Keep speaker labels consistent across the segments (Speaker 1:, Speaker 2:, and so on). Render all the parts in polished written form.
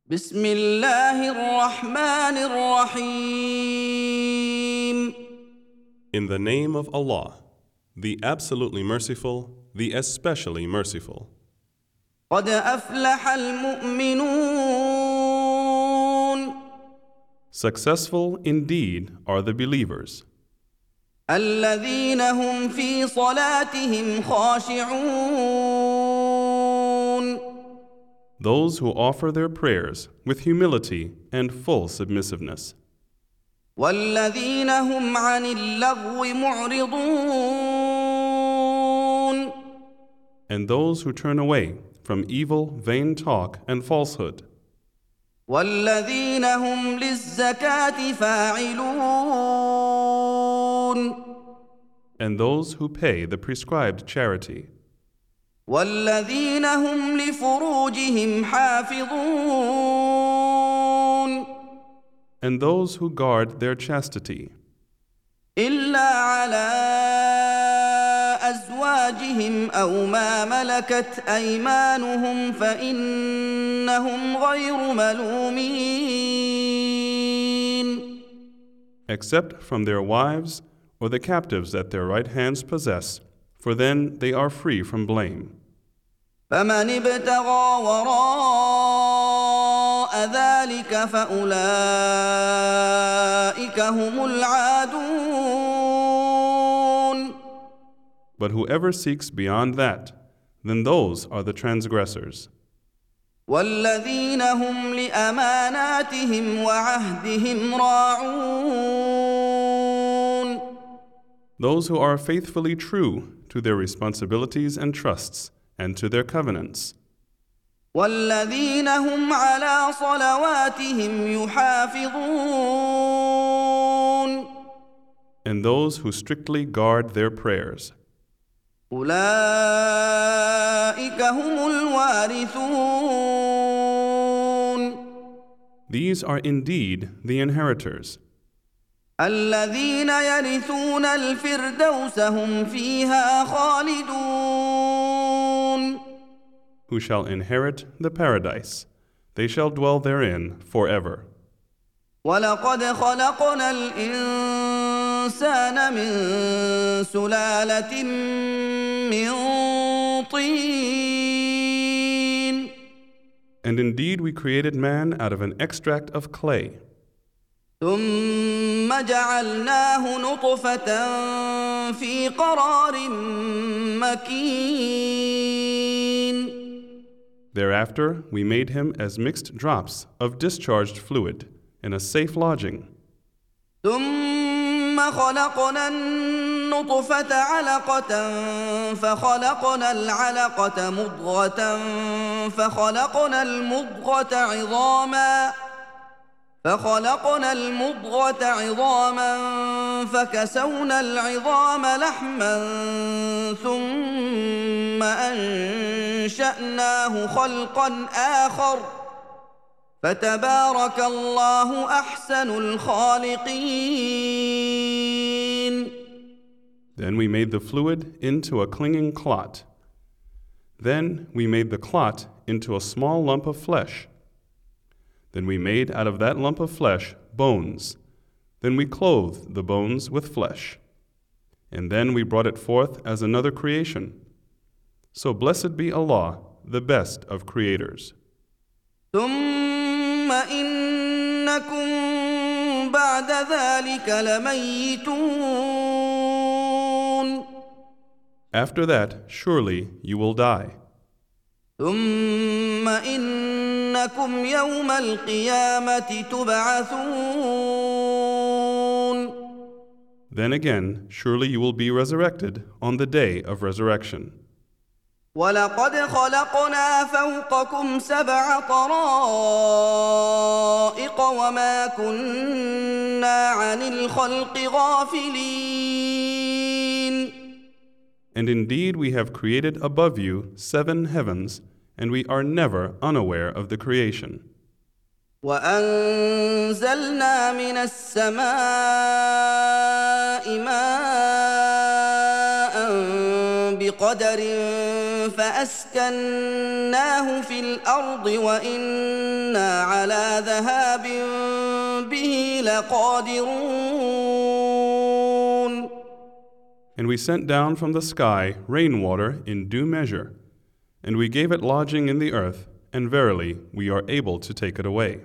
Speaker 1: بسم الله الرحمن الرحيم.
Speaker 2: In the name of Allah, the absolutely merciful, the especially merciful.
Speaker 1: قد أفلح المؤمنون
Speaker 2: Successful indeed are the believers,
Speaker 1: الذين هم في صلاتهم خاشعون
Speaker 2: those who offer their prayers with humility and full submissiveness,
Speaker 1: والذين هم عن اللغو معرضون
Speaker 2: and those who turn away from evil, vain talk and falsehood,
Speaker 1: والذين هم للزكاة فاعلون
Speaker 2: and those who pay the prescribed charity,
Speaker 1: والذين هم لفروجهم حافظون
Speaker 2: and those who guard their chastity,
Speaker 1: إلا على أزواجهم أو ما ملكت أيمانهم فإنهم غير ملومين
Speaker 2: except from their wives or the captives that their right hands possess, for then they are free from blame.
Speaker 1: فمن ابتغى وراء ذلك فأولئك هم العادون
Speaker 2: But whoever seeks beyond that, then those are the transgressors,
Speaker 1: والذين هم لأماناتهم وعهدهم راعون
Speaker 2: those who are faithfully true to their responsibilities and trusts and to their covenants,
Speaker 1: والذين هم على صلواتهم يحافظون
Speaker 2: and those who strictly guard their prayers.
Speaker 1: أولئك هم الوارثون
Speaker 2: These are indeed the inheritors,
Speaker 1: الذين يرثون الفردوس هم فيها خالدون
Speaker 2: who shall inherit the paradise. They shall dwell therein forever.
Speaker 1: ولقد خلقنا الإنسان من سلالة من طين
Speaker 2: And indeed we created man out of an extract of clay,
Speaker 1: ثم جعلناه نطفة في قرار مكين
Speaker 2: Thereafter, we made him as mixed drops of discharged fluid in a safe lodging.
Speaker 1: ثم خلقنا النطفة علقة فخلقنا العلقة مضغة فخلقنا المضغة عظاما فكسونا العظام لحما ثم أنشأناه خلقا آخر فتبارك الله أحسن الخالقين.
Speaker 2: Then we made the fluid into a clinging clot. Then we made the clot into a small lump of flesh. Then we made out of that lump of flesh bones. Then we clothed the bones with flesh. And then we brought it forth as another creation. So blessed be Allah, the best of creators.
Speaker 1: ثم إنكم بعد ذلك لميتون
Speaker 2: After that, surely you will die.
Speaker 1: ثم إنكم يوم القيامة تبعثون
Speaker 2: Then again, surely you will be resurrected on the day of resurrection.
Speaker 1: ولقد خلقنا فوقكم 7 طرائق وما كنا عن الخلق غافلين
Speaker 2: And indeed we have created above you 7 heavens, and we are never unaware of the creation.
Speaker 1: وأنزلنا من السماء ماء بقدر فأسكناه في الأرض وإنا على ذهاب به لقادرون.
Speaker 2: And we sent down from the sky rainwater in due measure, and we gave it lodging in the earth, and verily we are able to take it away.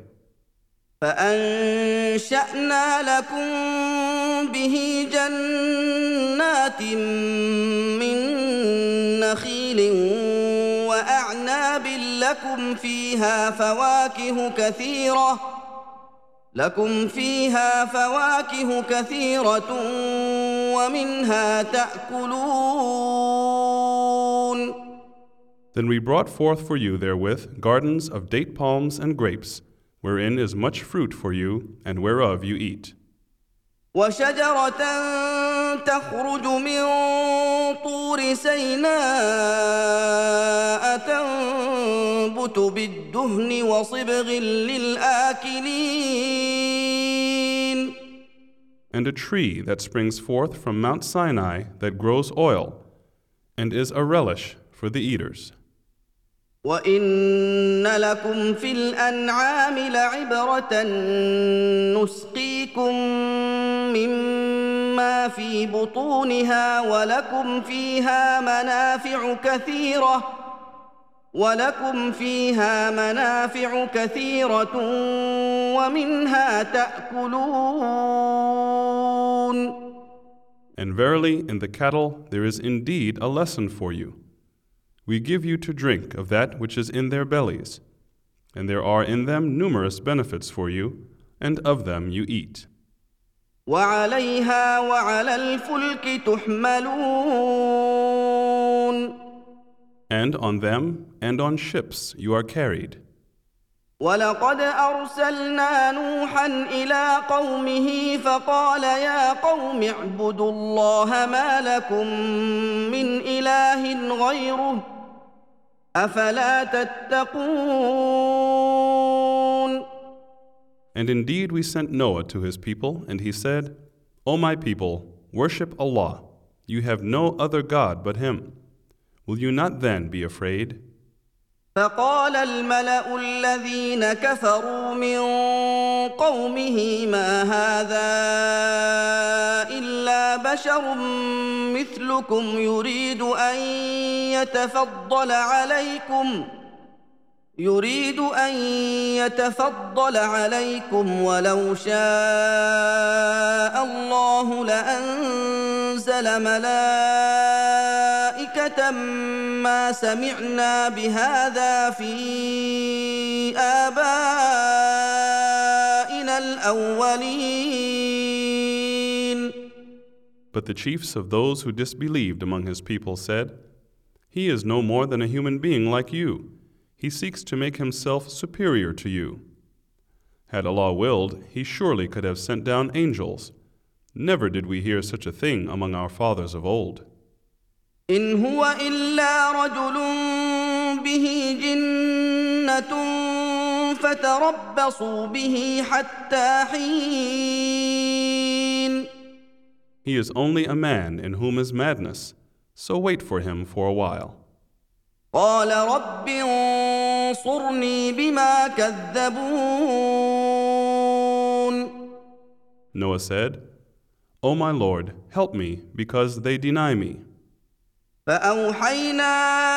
Speaker 1: فأنشأنا لكم به جنات من نخيل وأعناب لكم فيها فواكه كثيرة ومنها تأكلون.
Speaker 2: Then we brought forth for you therewith gardens of date palms and grapes, wherein is much fruit for you, and whereof you eat.
Speaker 1: وشجرة تخرج من طور سيناء تنبت بالدهن وصبغ للآكلين.
Speaker 2: And a tree that springs forth from Mount Sinai that grows oil, and is a relish for the eaters.
Speaker 1: وَإِنَّ لَكُمْ فِي الْأَنْعَامِ لَعِبْرَةً نُسْقِيكُم مِّمَّا فِي بُطُونِهَا وَلَكُمْ فِيهَا مَنَافِعُ كَثِيرَةٌ وَمِنْهَا تَأْكُلُونَ.
Speaker 2: And verily in the cattle there is indeed a lesson for you. We give you to drink of that which is in their bellies, and there are in them numerous benefits for you, and of them you eat.
Speaker 1: وَعَلَيْهَا وَعَلَى الْفُلْكِ تُحْمَلُونَ.
Speaker 2: And on them and on ships you are carried.
Speaker 1: وَلَقَدْ أَرْسَلْنَا نُوحًا إِلَىٰ قَوْمِهِ فَقَالَ يَا قَوْمِ اعْبُدُوا اللَّهَ مَا لَكُم مِّنْ إِلَٰهٍ غَيْرُهُ أَفَلَا تَتَّقُونَ.
Speaker 2: And indeed we sent Noah to his people, and he said, O my people, worship Allah. You have no other God but Him. Will you not then be afraid?
Speaker 1: فقال الملأ الذين كفروا من قومه ما هذا إلا بشر مثلكم يريد أن يتفضل عليكم ولو شاء الله لأنزل ملائكة ما سمعنا بهذا في آبائنا الأولين.
Speaker 2: But the chiefs of those who disbelieved among his people said, He is no more than a human being like you. He seeks to make himself superior to you. Had Allah willed, He surely could have sent down angels. Never did we hear such a thing among our fathers of old.
Speaker 1: إن هو إلا رجل به جنة فتربصوا به حتى حين.
Speaker 2: He is only a man in whom is madness, so wait for him for a while.
Speaker 1: قال رب انصرني بما كذبون.
Speaker 2: Noah said, O my Lord, help me, because they deny me.
Speaker 1: فأوحينا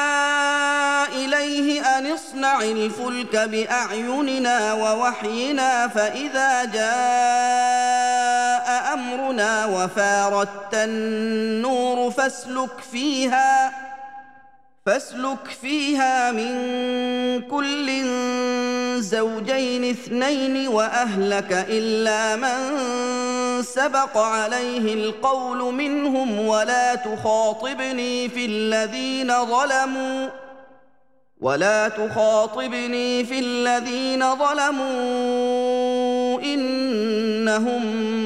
Speaker 1: إليه أن اصنع الفلك بأعيننا ووحينا فإذا جاء أمرنا وفارت النور فاسلك فيها من كل زوجين اثنين وأهلك إلا من سبق عليه القول منهم ولا تخاطبني في الذين ظلموا إنهم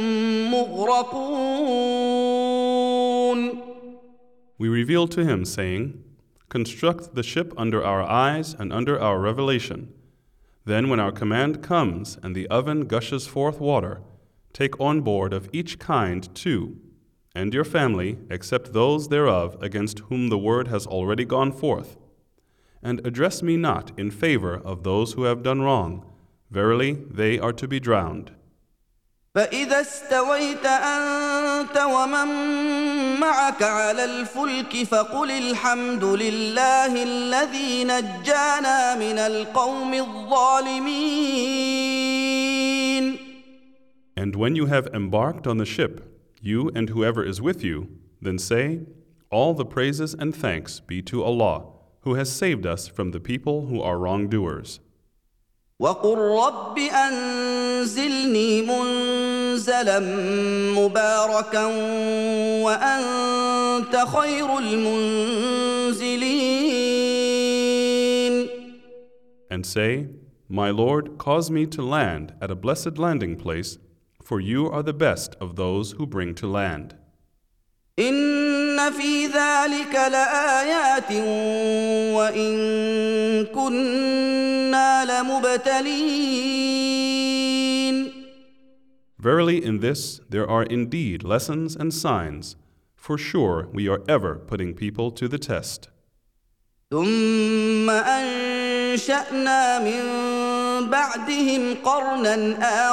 Speaker 1: مغرقون.
Speaker 2: We revealed to him, saying, Construct the ship under our eyes and under our revelation. Then when our command comes and the oven gushes forth water, take on board of each kind 2, and your family, except those thereof against whom the word has already gone forth. And address me not in favor of those who have done wrong. Verily, they are to be drowned.
Speaker 1: فإذا استويت أنت ومن معك على الفلك فقل الحمد لله الذي نجانا من القوم الظالمين.
Speaker 2: And when you have embarked on the ship, you and whoever is with you, then say, all the praises and thanks be to Allah, who has saved us from the people who are wrongdoers.
Speaker 1: وقل رب أنزلني منزلا مباركا وأنت خير المنزلين.
Speaker 2: And say, my Lord, cause me to land at a blessed landing place, for you are the best of those who bring to land.
Speaker 1: إن في ذلك لآيات وإن كنا لمبتلين.
Speaker 2: Verily in this there are indeed lessons and signs. For sure we are ever putting people to the test.
Speaker 1: ثم أنشأنا من بعدهم قرنا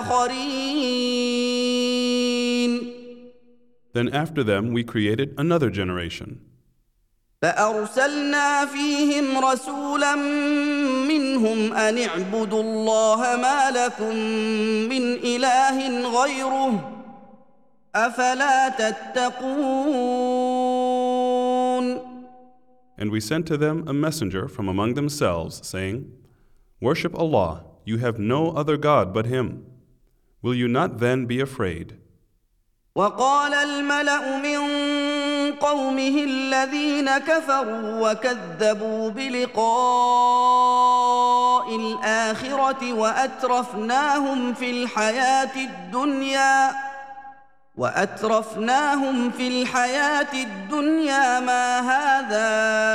Speaker 1: آخرين.
Speaker 2: Then after them we created another generation.
Speaker 1: فأرسلنا فيهم رسولا منهم أن اعبدوا الله ما لكم من إله غيره أفلا تتقون.
Speaker 2: And we sent to them a messenger from among themselves, saying, worship Allah, you have no other God but Him. Will you not then be afraid?
Speaker 1: وقال الملأ من قومه الذين كفروا وكذبوا بلقاء الآخرة وأترفناهم في الحياة الدنيا ما هذا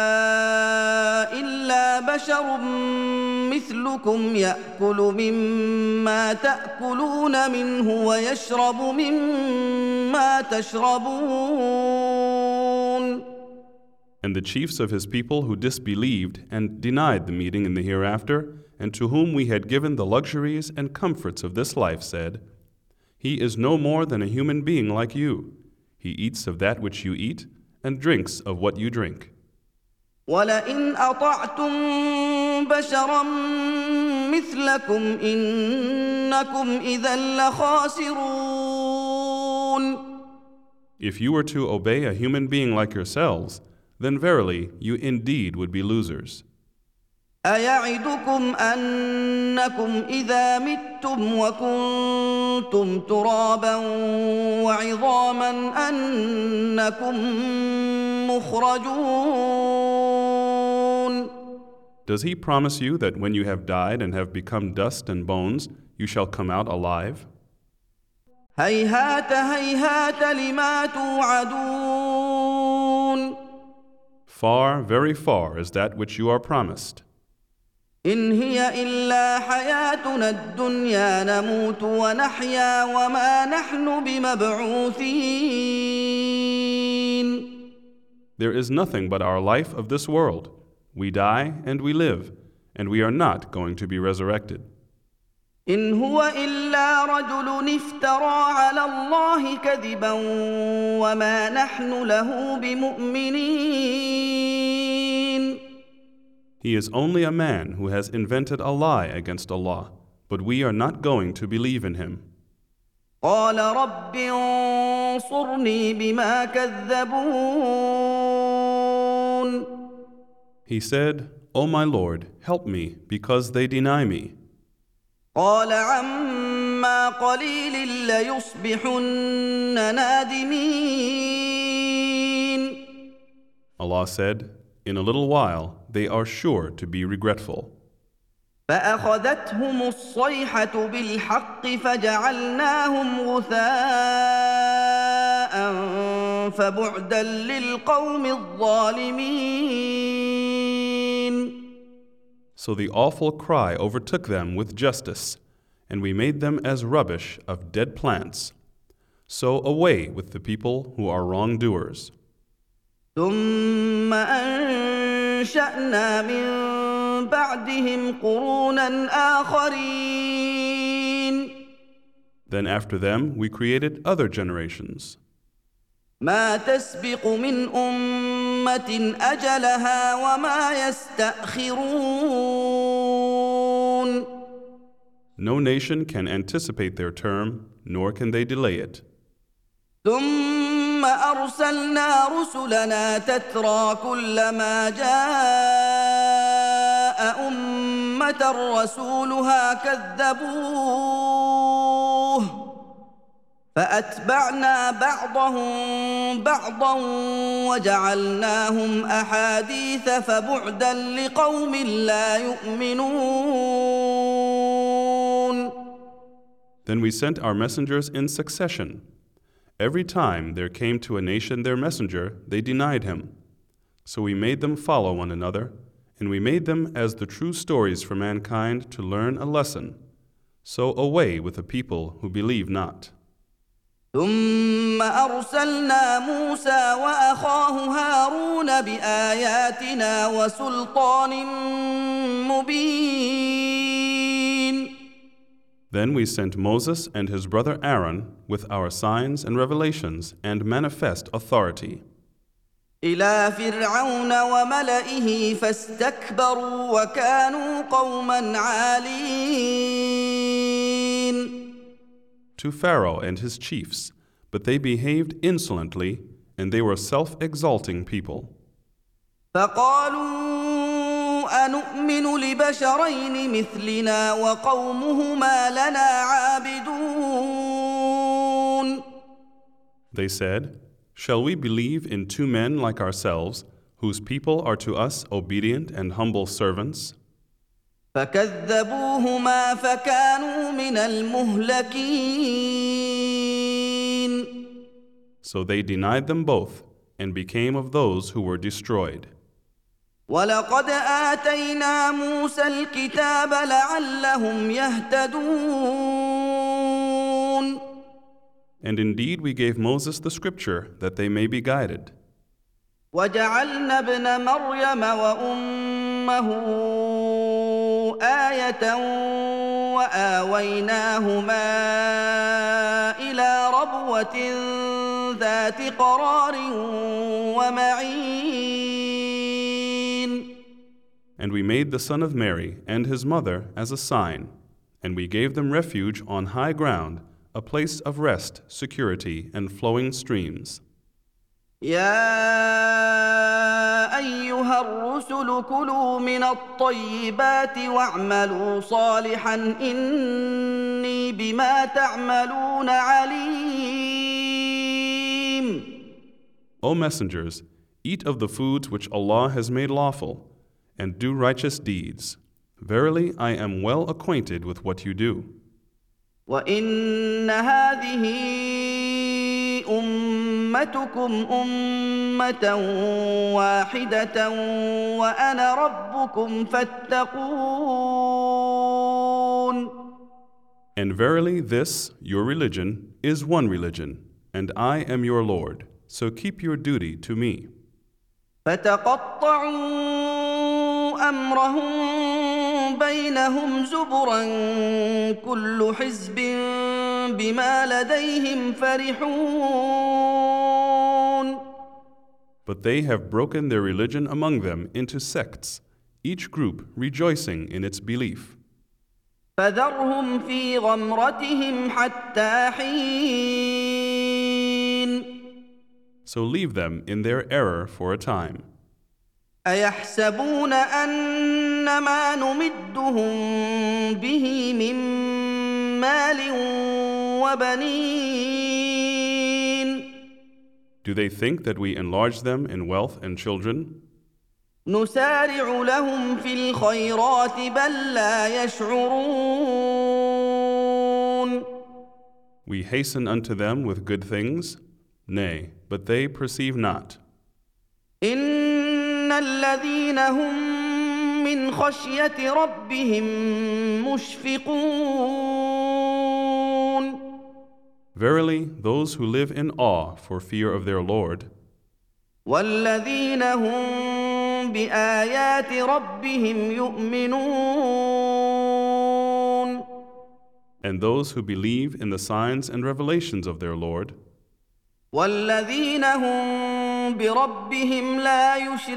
Speaker 1: إلا بشر مثلكم يأكل مما تأكلون منه ويشرب مما تشربون.
Speaker 2: And the chiefs of his people who disbelieved and denied the meeting in the hereafter, and to whom we had given the luxuries and comforts of this life, said, he is no more than a human being like you. He eats of that which you eat, and drinks of what you drink.
Speaker 1: وَلَئِنْ أَطَعْتُمْ بَشَرًا مِثْلَكُمْ إِنَّكُمْ إِذًا لَخَاسِرُونَ.
Speaker 2: If you were to obey a human being like yourselves, then verily you indeed would be losers.
Speaker 1: أَيَعِدُكُمْ أَنَّكُمْ إِذَا مِتُّمْ وَكُنْتُمْ تُرَابًا وَعِظَامًا أَنَّكُمْ مُخْرَجُونَ.
Speaker 2: Does he promise you that when you have died and have become dust and bones, you shall come out alive?
Speaker 1: هَيْهَاتَ هَيْهَاتَ لِمَا تُوعَدُونَ.
Speaker 2: Far, very far is that which you are promised.
Speaker 1: إن هي إلا حياتنا الدنيا نموت ونحيا وما نحن بمبعوثين.
Speaker 2: There is nothing but our life of this world. We die and we live, and we are not going to be resurrected.
Speaker 1: إن هو إلا رجل افترى على الله كذبا وما نحن له بمؤمنين.
Speaker 2: He is only a man who has invented a lie against Allah, but we are not going to believe in him.
Speaker 1: قال رب انصرني بما كذبون.
Speaker 2: He said, O my Lord, help me, because they deny me.
Speaker 1: قال عما قليل ليصبحن نادمين.
Speaker 2: Allah said, in a little while they are sure to be regretful.
Speaker 1: فأخذتهم الصيحة بالحق فجعلناهم غثاء فبعدا للقوم الظالمين.
Speaker 2: So the awful cry overtook them with justice, and we made them as rubbish of dead plants. So away with the people who are wrongdoers.
Speaker 1: ثم أنشأنا من بعدهم قرونا آخرين
Speaker 2: Then after them we created other generations.
Speaker 1: ما تسبق من أمة أجلها وما يستأخرون
Speaker 2: No nation can anticipate their term, nor can they delay it.
Speaker 1: ثم أرسلنا رسلنا تترى كلما جاء أمة رسولها كذبوه فأتبعنا بعضهم بعضا وجعلناهم أحاديث فبعدا لقوم لا يؤمنون.
Speaker 2: Then we sent our messengers in succession. Every time there came to a nation their messenger, they denied him. So we made them follow one another, and we made them as the true stories for mankind to learn a lesson. So away with the people who believe not.
Speaker 1: ثم أرسلنا موسى وأخاه هارون بآياتنا وسلطان مبين.
Speaker 2: Then we sent Moses and his brother Aaron with our signs and revelations and manifest authority.
Speaker 1: إلى فرعون وملئه فاستكبروا وكانوا قوما عالين.
Speaker 2: To Pharaoh and his chiefs, but they behaved insolently, and they were self-exalting people.
Speaker 1: فقالوا أنؤمن لبشرين مثلنا وقومهما لنا عابدون.
Speaker 2: They said, "Shall we believe in two men like ourselves, whose people are to us obedient and humble servants?"
Speaker 1: فكذبوهما فكانوا من المهلكين.
Speaker 2: So they denied them both and became of those who were destroyed.
Speaker 1: ولقد آتينا موسى الكتاب لعلهم يهتدون.
Speaker 2: And indeed we gave Moses the scripture that they may be guided.
Speaker 1: وجعلنا ابن مريم وأمه آية وآويناهما إلى ربوة ذات قرار ومعين.
Speaker 2: And we made the son of Mary and his mother as a sign, and we gave them refuge on high ground, a place of rest, security, and flowing streams.
Speaker 1: يا أيها الرسل كلوا من الطيبات واعملوا صالحا إني بما تعملون عليم.
Speaker 2: O messengers, eat of the foods which Allah has made lawful, and do righteous deeds. Verily, I am well acquainted with what you do.
Speaker 1: وإن هذه أمتكم أمة واحدة وأنا ربكم فاتقون.
Speaker 2: And verily, this, your religion, is one religion, and I am your Lord, so keep your duty to me.
Speaker 1: فتقطعوا أمرهم بينهم زبرا كل حزب بما لديهم فرحون.
Speaker 2: But they have broken their religion among them into sects, each group rejoicing in its belief.
Speaker 1: فذرهم في غمرتهم حتى حين.
Speaker 2: So leave them in their error for a time.
Speaker 1: أيحسبون أن ما نمدهم به من مال وبنين.
Speaker 2: Do they think that we enlarge them in wealth and children?
Speaker 1: نسارع لهم في الخيرات بل لا يشعرون.
Speaker 2: We hasten unto them with good things? Nay, but they perceive not.
Speaker 1: إن الذين هم من خشية ربهم مشفقون.
Speaker 2: Verily, those who live in awe for fear of their Lord,
Speaker 1: والذين هم بآيات ربهم يؤمنون
Speaker 2: and those who believe in the signs and revelations of their Lord,
Speaker 1: والذين هم بربهم لا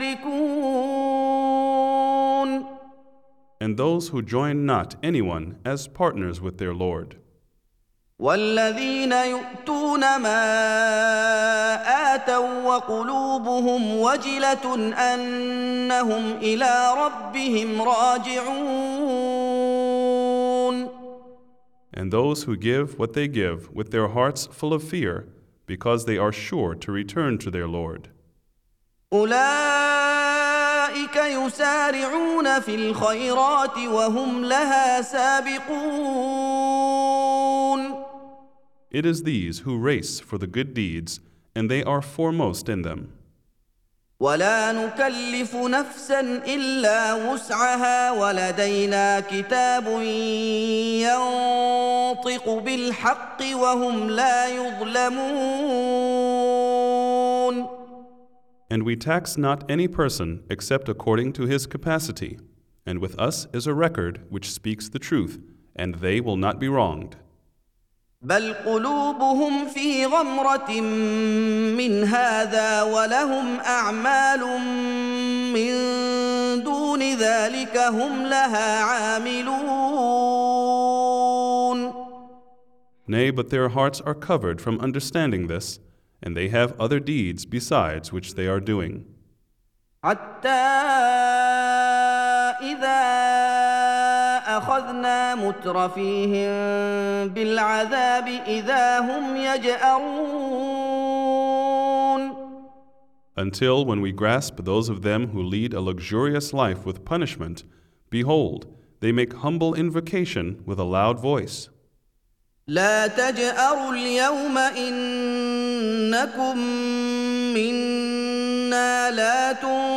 Speaker 1: يشركون
Speaker 2: and those who join not anyone as partners with their Lord,
Speaker 1: والذين يؤتون ما آتوا وقلوبهم وجلة أنهم إلى ربهم راجعون
Speaker 2: and those who give what they give with their hearts full of fear, because they are sure to return to their Lord.
Speaker 1: أولئك يسارعون في الخيرات وهم لها سابقون
Speaker 2: It is these who race for the good deeds, and they are foremost in them.
Speaker 1: ولا نكلف نفسا إلا وسعها ولدينا كتاب ينطق بالحق وهم لا يظلمون
Speaker 2: And we tax not any person except according to his capacity, and with us is a record which speaks the truth, and they will not be wronged.
Speaker 1: بل قلوبهم في غمرة من هذا ولهم أعمال من دون ذلك هم لها عاملون
Speaker 2: Nay, but their hearts are covered from understanding this, and they have other deeds besides which they are doing.
Speaker 1: حتى إذا أخذنا مترفيهم بالعذاب إذا هم يجأرون
Speaker 2: Until when we grasp those of them who lead a luxurious life with punishment, behold, they make humble invocation with a loud voice.
Speaker 1: لا تجأروا اليوم إنكم منا لا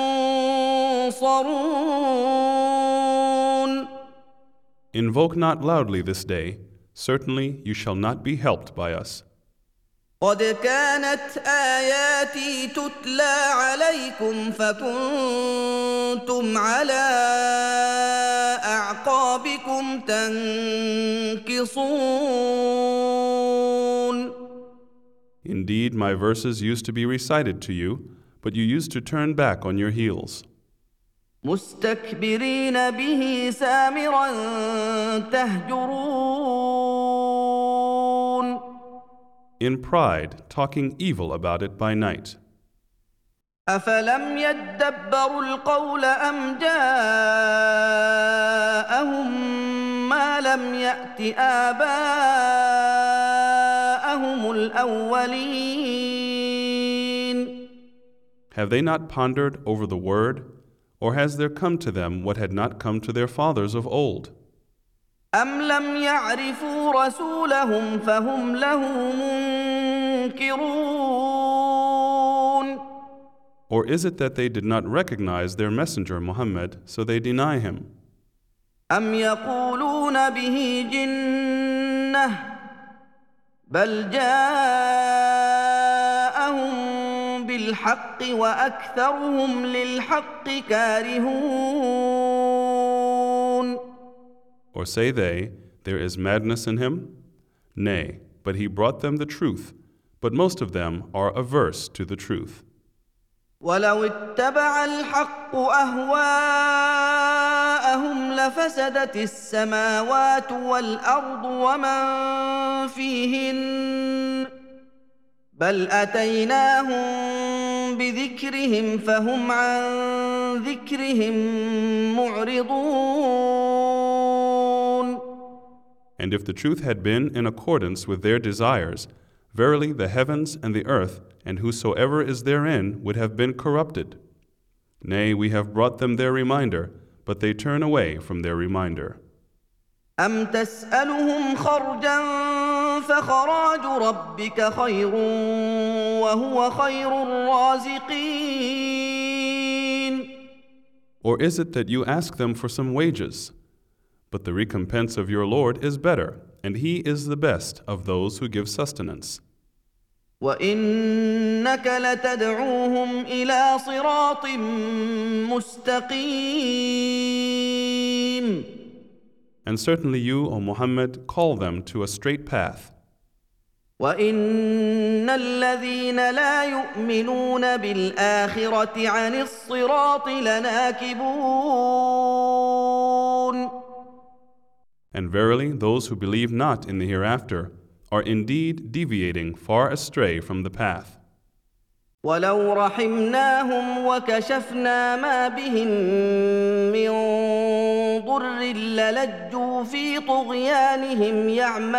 Speaker 1: تنصرون
Speaker 2: Invoke not loudly this day, certainly you shall not be helped by us.
Speaker 1: قد كانت آياتي تتلى عليكم فكنتم على أعقابكم تنكصون
Speaker 2: Indeed, my verses used to be recited to you, but you used to turn back on your heels.
Speaker 1: مستكبرين به سامرا تهجرون
Speaker 2: In pride, talking evil about it by night.
Speaker 1: أفلم يدبروا القول أم جاءهم ما لم يأت آباءهم الأولين
Speaker 2: Have they not pondered over the word, or has there come to them what had not come to their fathers of old?
Speaker 1: أم لم يعرفوا رسولهم فهم له منكرون
Speaker 2: Or is it that they did not recognize their messenger Muhammad, so they deny him?
Speaker 1: أم يقولون به جنة بل جاءهم بالحق وأكثرهم للحق كارهون
Speaker 2: Or say they, there is madness in him? Nay, but he brought them the truth, but most of them are averse to the truth.
Speaker 1: ولو اتبع الحق أهواءهم لفسدت السماوات والأرض ومن فيهن بل أتيناهم بذكرهم فهم عن ذكرهم معرضون
Speaker 2: And if the truth had been in accordance with their desires, verily the heavens and the earth and whosoever is therein would have been corrupted. Nay, we have brought them their reminder, but they turn away from their reminder.
Speaker 1: أم تسألهم خرجا فخراج ربك خير وهو خير الرازقين
Speaker 2: Or is it that you ask them for some wages? But the recompense of your Lord is better, and He is the best of those who give sustenance.
Speaker 1: وإنك لتدعوهم إلى صراط مستقيم.
Speaker 2: And certainly you, O Muhammad, call them to a straight path.
Speaker 1: وإن الذين لا يؤمنون بالآخرة عن الصراط لناكبون.
Speaker 2: And verily, those who believe not in the hereafter are indeed deviating far astray from the path.
Speaker 1: ولو رحمناهم وكشفنا ما بهم من ضر للجوا في طغيانهم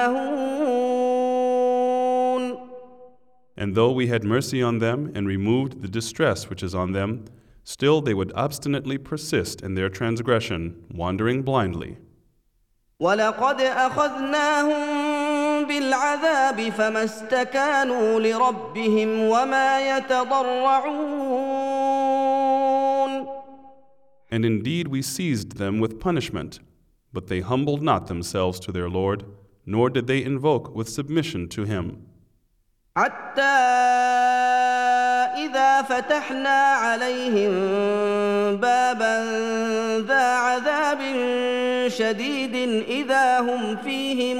Speaker 1: يعمهون.
Speaker 2: And though we had mercy on them and removed the distress which is on them, still they would obstinately persist in their transgression, wandering blindly.
Speaker 1: ولقد أخذناهم بالعذاب فما استكانوا لربهم وما يتضرعون.
Speaker 2: And indeed we seized them with punishment, but they humbled not themselves to their Lord, nor did they invoke with submission to Him.
Speaker 1: حتى إذا فتحنا عليهم بابا ذا عذاب شديد إذا هم فيه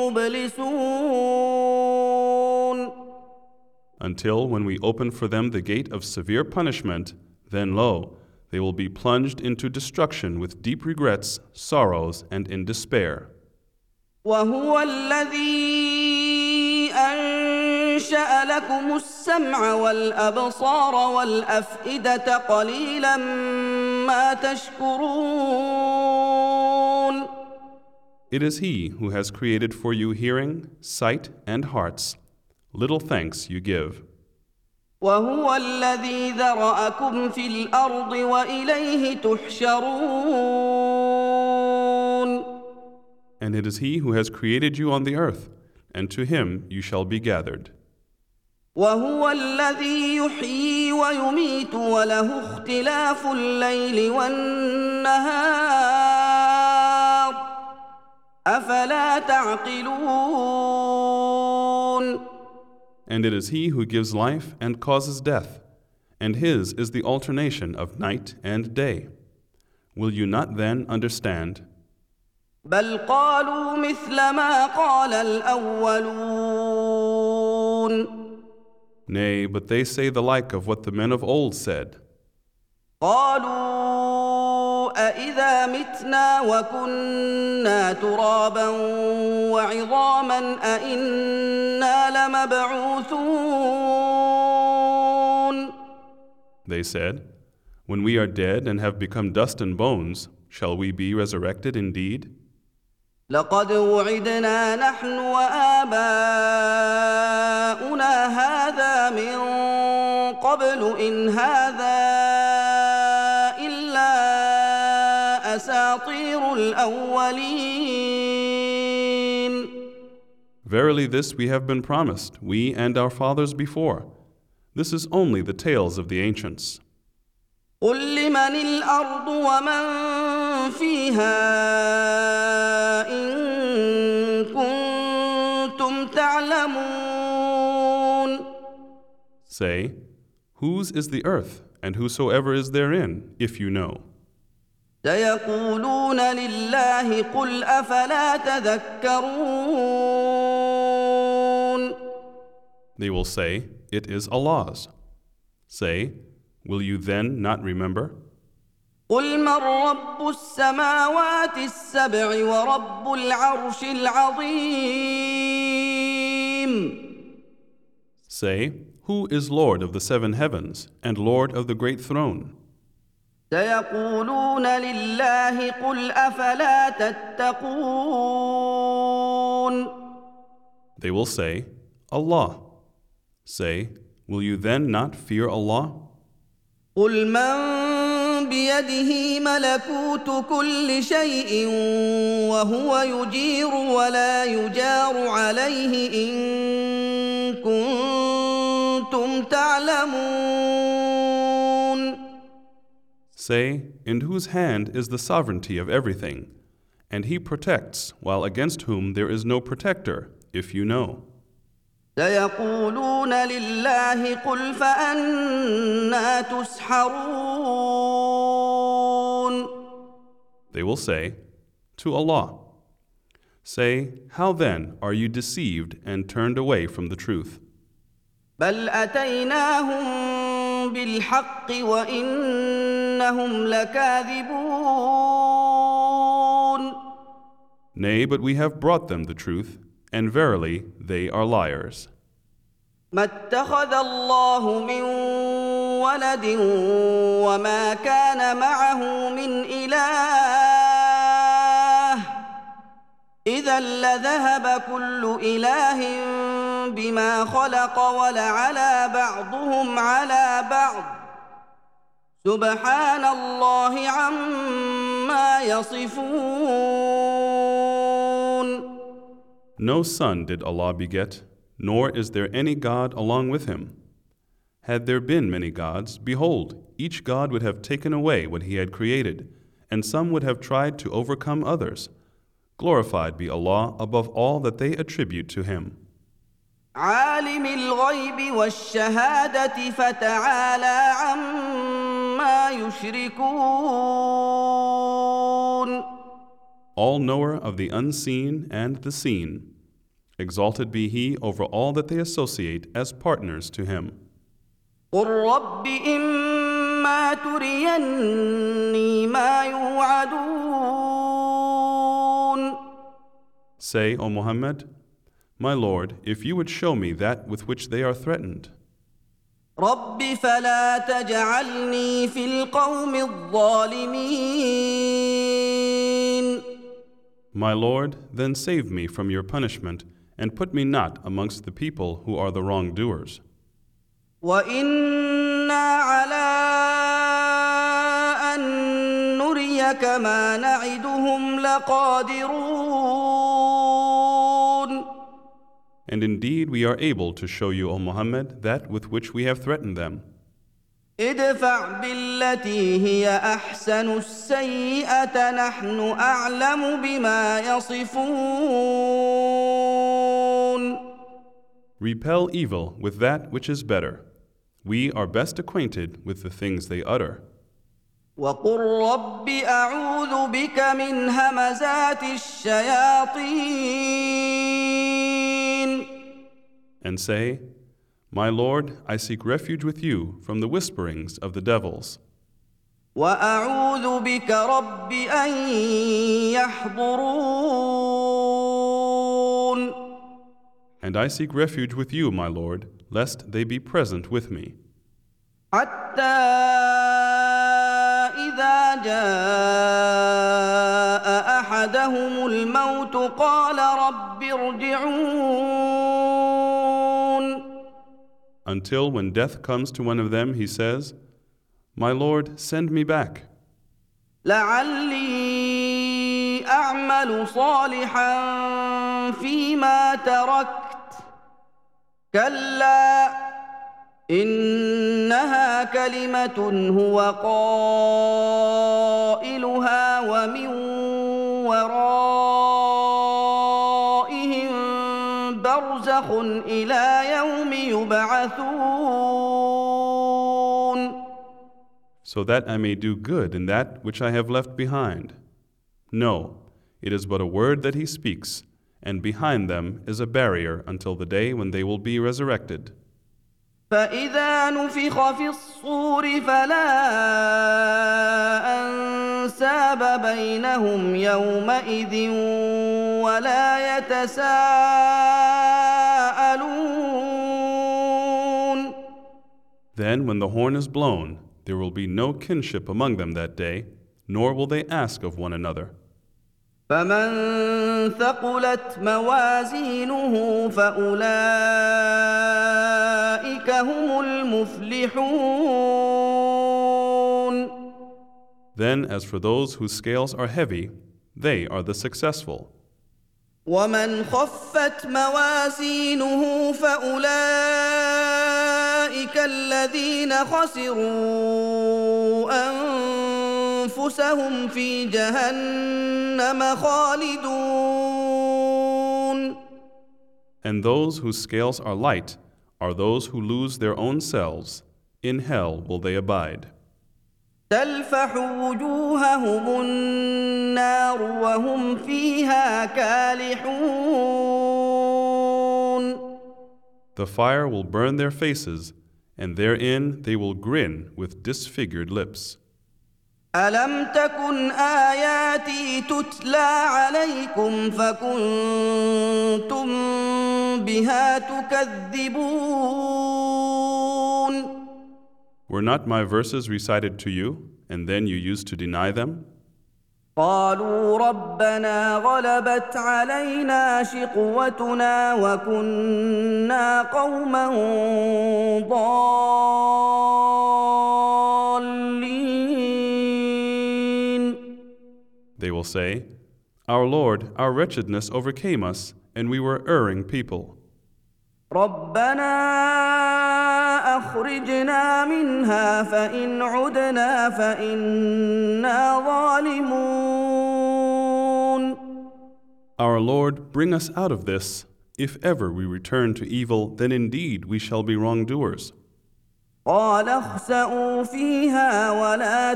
Speaker 1: مبلسون.
Speaker 2: Until when we open for them the gate of severe punishment, then lo, they will be plunged into destruction with deep regrets, sorrows, and in despair.
Speaker 1: وهو الذي أنشأ لكم السمع والأبصار والأفئدة قليلا ما تشكرون.
Speaker 2: It is He who has created for you hearing, sight, and hearts. Little thanks you give.
Speaker 1: وهو الذي ذرأكم في الأرض وإليه تحشرون.
Speaker 2: And it is He who has created you on the earth, and to Him you shall be gathered.
Speaker 1: وهو الذي يحيي ويميت وله اختلاف الليل والنهار أفلا تعقلون.
Speaker 2: And it is He who gives life and causes death, and His is the alternation of night and day. Will you not then understand?
Speaker 1: بل قالوا مثل ما قال الأولون.
Speaker 2: Nay, but they say the like of what the men of old said.
Speaker 1: قالوا أإذا متنا وكنا ترابا وعظاما أإنا لمبعوثون.
Speaker 2: They said, when we are dead and have become dust and bones, shall we be resurrected indeed?
Speaker 1: لقد وعدنا نحن وآباؤنا هذا من قبل إن هذا إلا أساطير الأولين.
Speaker 2: Verily this we have been promised, we and our fathers before. This is only the tales of the ancients.
Speaker 1: قل لمن الأرض ومن فيها إن كنتم تعلمون.
Speaker 2: Say, whose is the earth and whosoever is therein, if you know?
Speaker 1: سيقولون لله قل أفلا تذكرون.
Speaker 2: They will say, it is Allah's. Say, will you then not remember?
Speaker 1: قل من رب السماوات السبع ورب العرش العظيم.
Speaker 2: Say, who is Lord of the 7 heavens and Lord of the great throne?
Speaker 1: سيقولون لله قل أفلا تتقون.
Speaker 2: They will say, Allah. Say, will you then not fear Allah?
Speaker 1: قل من بيده ملكوت كل شيء وهو يجير ولا يجار عليه إن كنتم تعلمون.
Speaker 2: Say, in whose hand is the sovereignty of everything, And He protects, while against whom there is no protector, if you know.
Speaker 1: سيقولون لله قل فأنى تسحرون.
Speaker 2: They will say, To Allah. Say, how then are you deceived and turned away from the truth?
Speaker 1: بل أتيناهم بالحق وإنهم لكاذبون.
Speaker 2: Nay, but we have brought them the truth, and verily they are liars.
Speaker 1: ما اتخذ الله من ولد وما كان معه من إله إذا لذهب كل إله بما خلق ولعلى بعضهم على بعض سبحان الله عما يصفون.
Speaker 2: No son did Allah beget, nor is there any God along with him. Had there been many gods, behold, each god would have taken away what he had created, and some would have tried to overcome others. Glorified be Allah above all that they attribute to Him.
Speaker 1: عالم الغيب والشهادة فتعالى عما يشركون.
Speaker 2: All knower of the unseen and the seen, exalted be He over all that they associate as partners to Him.
Speaker 1: قل رب إما تريني ما يوعدون.
Speaker 2: Say, O Muhammad, My Lord, if you would show me that with which they are threatened.
Speaker 1: رب فلا تجعلني في القوم الظالمين.
Speaker 2: My Lord, then save me from your punishment, and put me not amongst the people who are the wrongdoers.
Speaker 1: وإنا على أن نريك ما نعدهم لقادرون.
Speaker 2: And indeed we are able to show you, O Muhammad, that with which we have threatened them.
Speaker 1: ادفع بالتي هي أحسن السيئة نحن أعلم بما يصفون.
Speaker 2: Repel evil with that which is better. We are best acquainted with the things they utter.
Speaker 1: وقل رب أعوذ بك من همزات الشياطين.
Speaker 2: And say, My Lord, I seek refuge with you from the whisperings of the devils.
Speaker 1: وأعوذ بك رب أن يحضرون.
Speaker 2: And I seek refuge with you, my Lord, lest they be present with me.
Speaker 1: حتى إذا جاء أحدهم الموت قال رب ارجعون.
Speaker 2: Until when death comes to one of them, he says, My Lord, send me back,
Speaker 1: لعلي أعمل صالحا فيما تركت كلا إنها كلمة هو قائلها ومن ورائهم برزخ إلى يوم يبعثون.
Speaker 2: so that I may do good in that which I have left behind. No, it is but a word that he speaks, and behind them is a barrier until the day when they will be resurrected.
Speaker 1: فإذا نفخ في الصور فلا أنساب بينهم يومئذ ولا يتساءلون.
Speaker 2: Then when the horn is blown, there will be no kinship among them that day, nor will they ask of one another.
Speaker 1: فمن ثقلت موازينه فأولئك هم المفلحون.
Speaker 2: Then as for those whose scales are heavy, they are the successful.
Speaker 1: ومن خفت موازينه فأولئك الذين خسروا أنفسهم في جهنم خالدون.
Speaker 2: And those whose scales are light are those who lose their own selves. In hell will they abide.
Speaker 1: تلفح وجوههم النار وهم فيها كالحون.
Speaker 2: The fire will burn their faces, and therein they will grin with disfigured lips.
Speaker 1: ألم تكن آياتي تتلى عليكم فكنتم بها تكذبون.
Speaker 2: Were not my verses recited to you, and then you used to deny them?
Speaker 1: قالوا ربنا غلبت علينا شقوتنا وكنا قوما ضالين.
Speaker 2: They will say, Our Lord, our wretchedness overcame us, and we were erring people.
Speaker 1: ربنا أخرجنا منها فإن عدنا فإنا ظالمون.
Speaker 2: Our Lord, bring us out of this. If ever we return to evil, then indeed we shall be wrongdoers.
Speaker 1: قال اخسئوا فيها ولا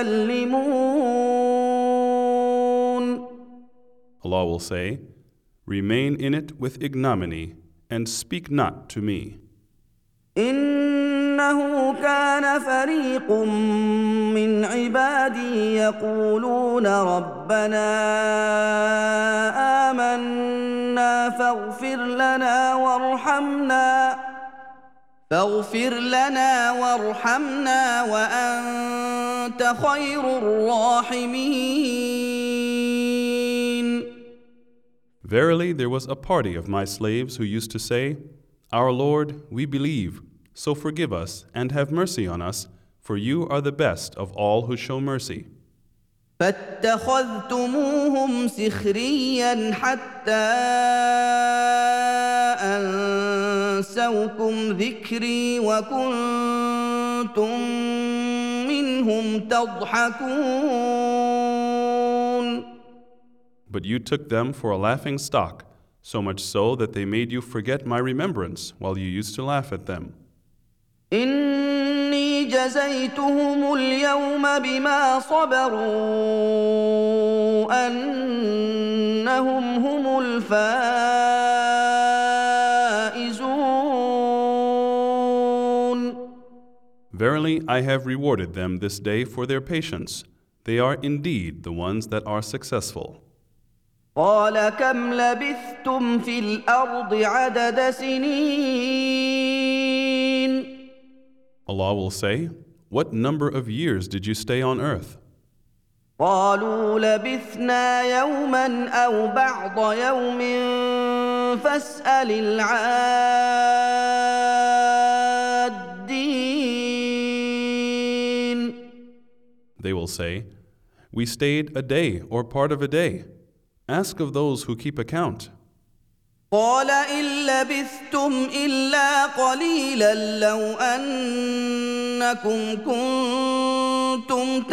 Speaker 1: تكلمون.
Speaker 2: Allah will say, Remain in it with ignominy, and speak not to me.
Speaker 1: إنه كان فريق من عبادي يقولون ربنا آمنا فاغفر لنا وارحمنا وأنت خير الراحمين.
Speaker 2: Verily, there was a party of my slaves who used to say, Our Lord, we believe, so forgive us and have mercy on us, for you are the best of all who show mercy.
Speaker 1: فاتخذتموهم سخريا حتى أنسوكم ذكري وكنتم منهم تضحكون.
Speaker 2: But you took them for a laughing stock, so much so that they made you forget my remembrance while you used to laugh at them.
Speaker 1: إني جزيتهم اليوم بما صبروا أنهم هم الفائزون.
Speaker 2: Verily, I have rewarded them this day for their patience. They are indeed the ones that are successful.
Speaker 1: قال كم لبثتم في الأرض عدد سنين.
Speaker 2: Allah will say, What number of years did you stay on earth?
Speaker 1: قالوا لبثنا يوما أو بعض يوم فاسأل العادين.
Speaker 2: They will say, We stayed a day or part of a day. Ask of those who keep account.
Speaker 1: قال إن لبثتم إلا قليلا لو أنكم كنتم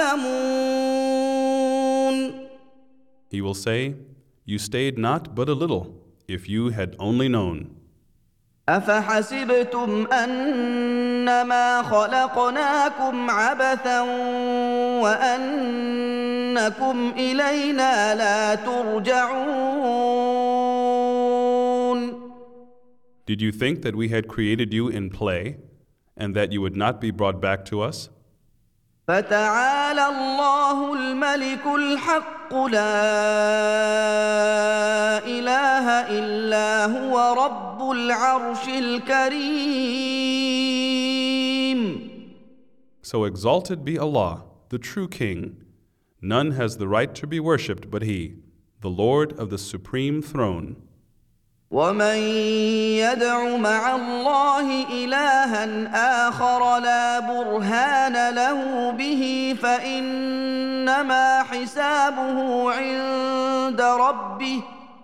Speaker 1: تعلمون.
Speaker 2: He will say, You stayed not but a little, if you had only known.
Speaker 1: أفحسبتم أنما خلقناكم عبثا وأنكم إلينا لا ترجعون.
Speaker 2: Did you think that we had created you in play, and that you would not be brought back to us?
Speaker 1: فتعالى الله الملك الحق لا إله إلا هو رب العرش الكريم.
Speaker 2: So exalted be Allah, the true King. None has the right to be worshipped but He, the Lord of the supreme throne.
Speaker 1: ومن يدع مع الله إلها آخر لا برهان له به فإنما حسابه عند ربه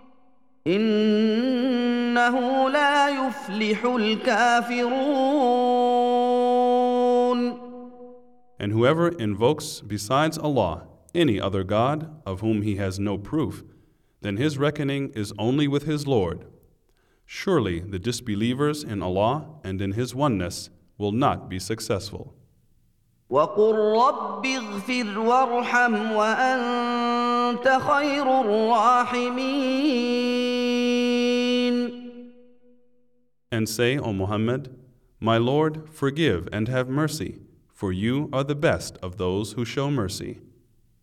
Speaker 1: إنه لا يفلح الكافرون.
Speaker 2: And whoever invokes besides Allah any other God of whom he has no proof, then his reckoning is only with his Lord. Surely the disbelievers in Allah and in His oneness will not be successful.
Speaker 1: وقل رب اغفر وارحم وأنت خير الراحمين.
Speaker 2: And say, O Muhammad, My Lord, forgive and have mercy, for you are the best of those who show mercy.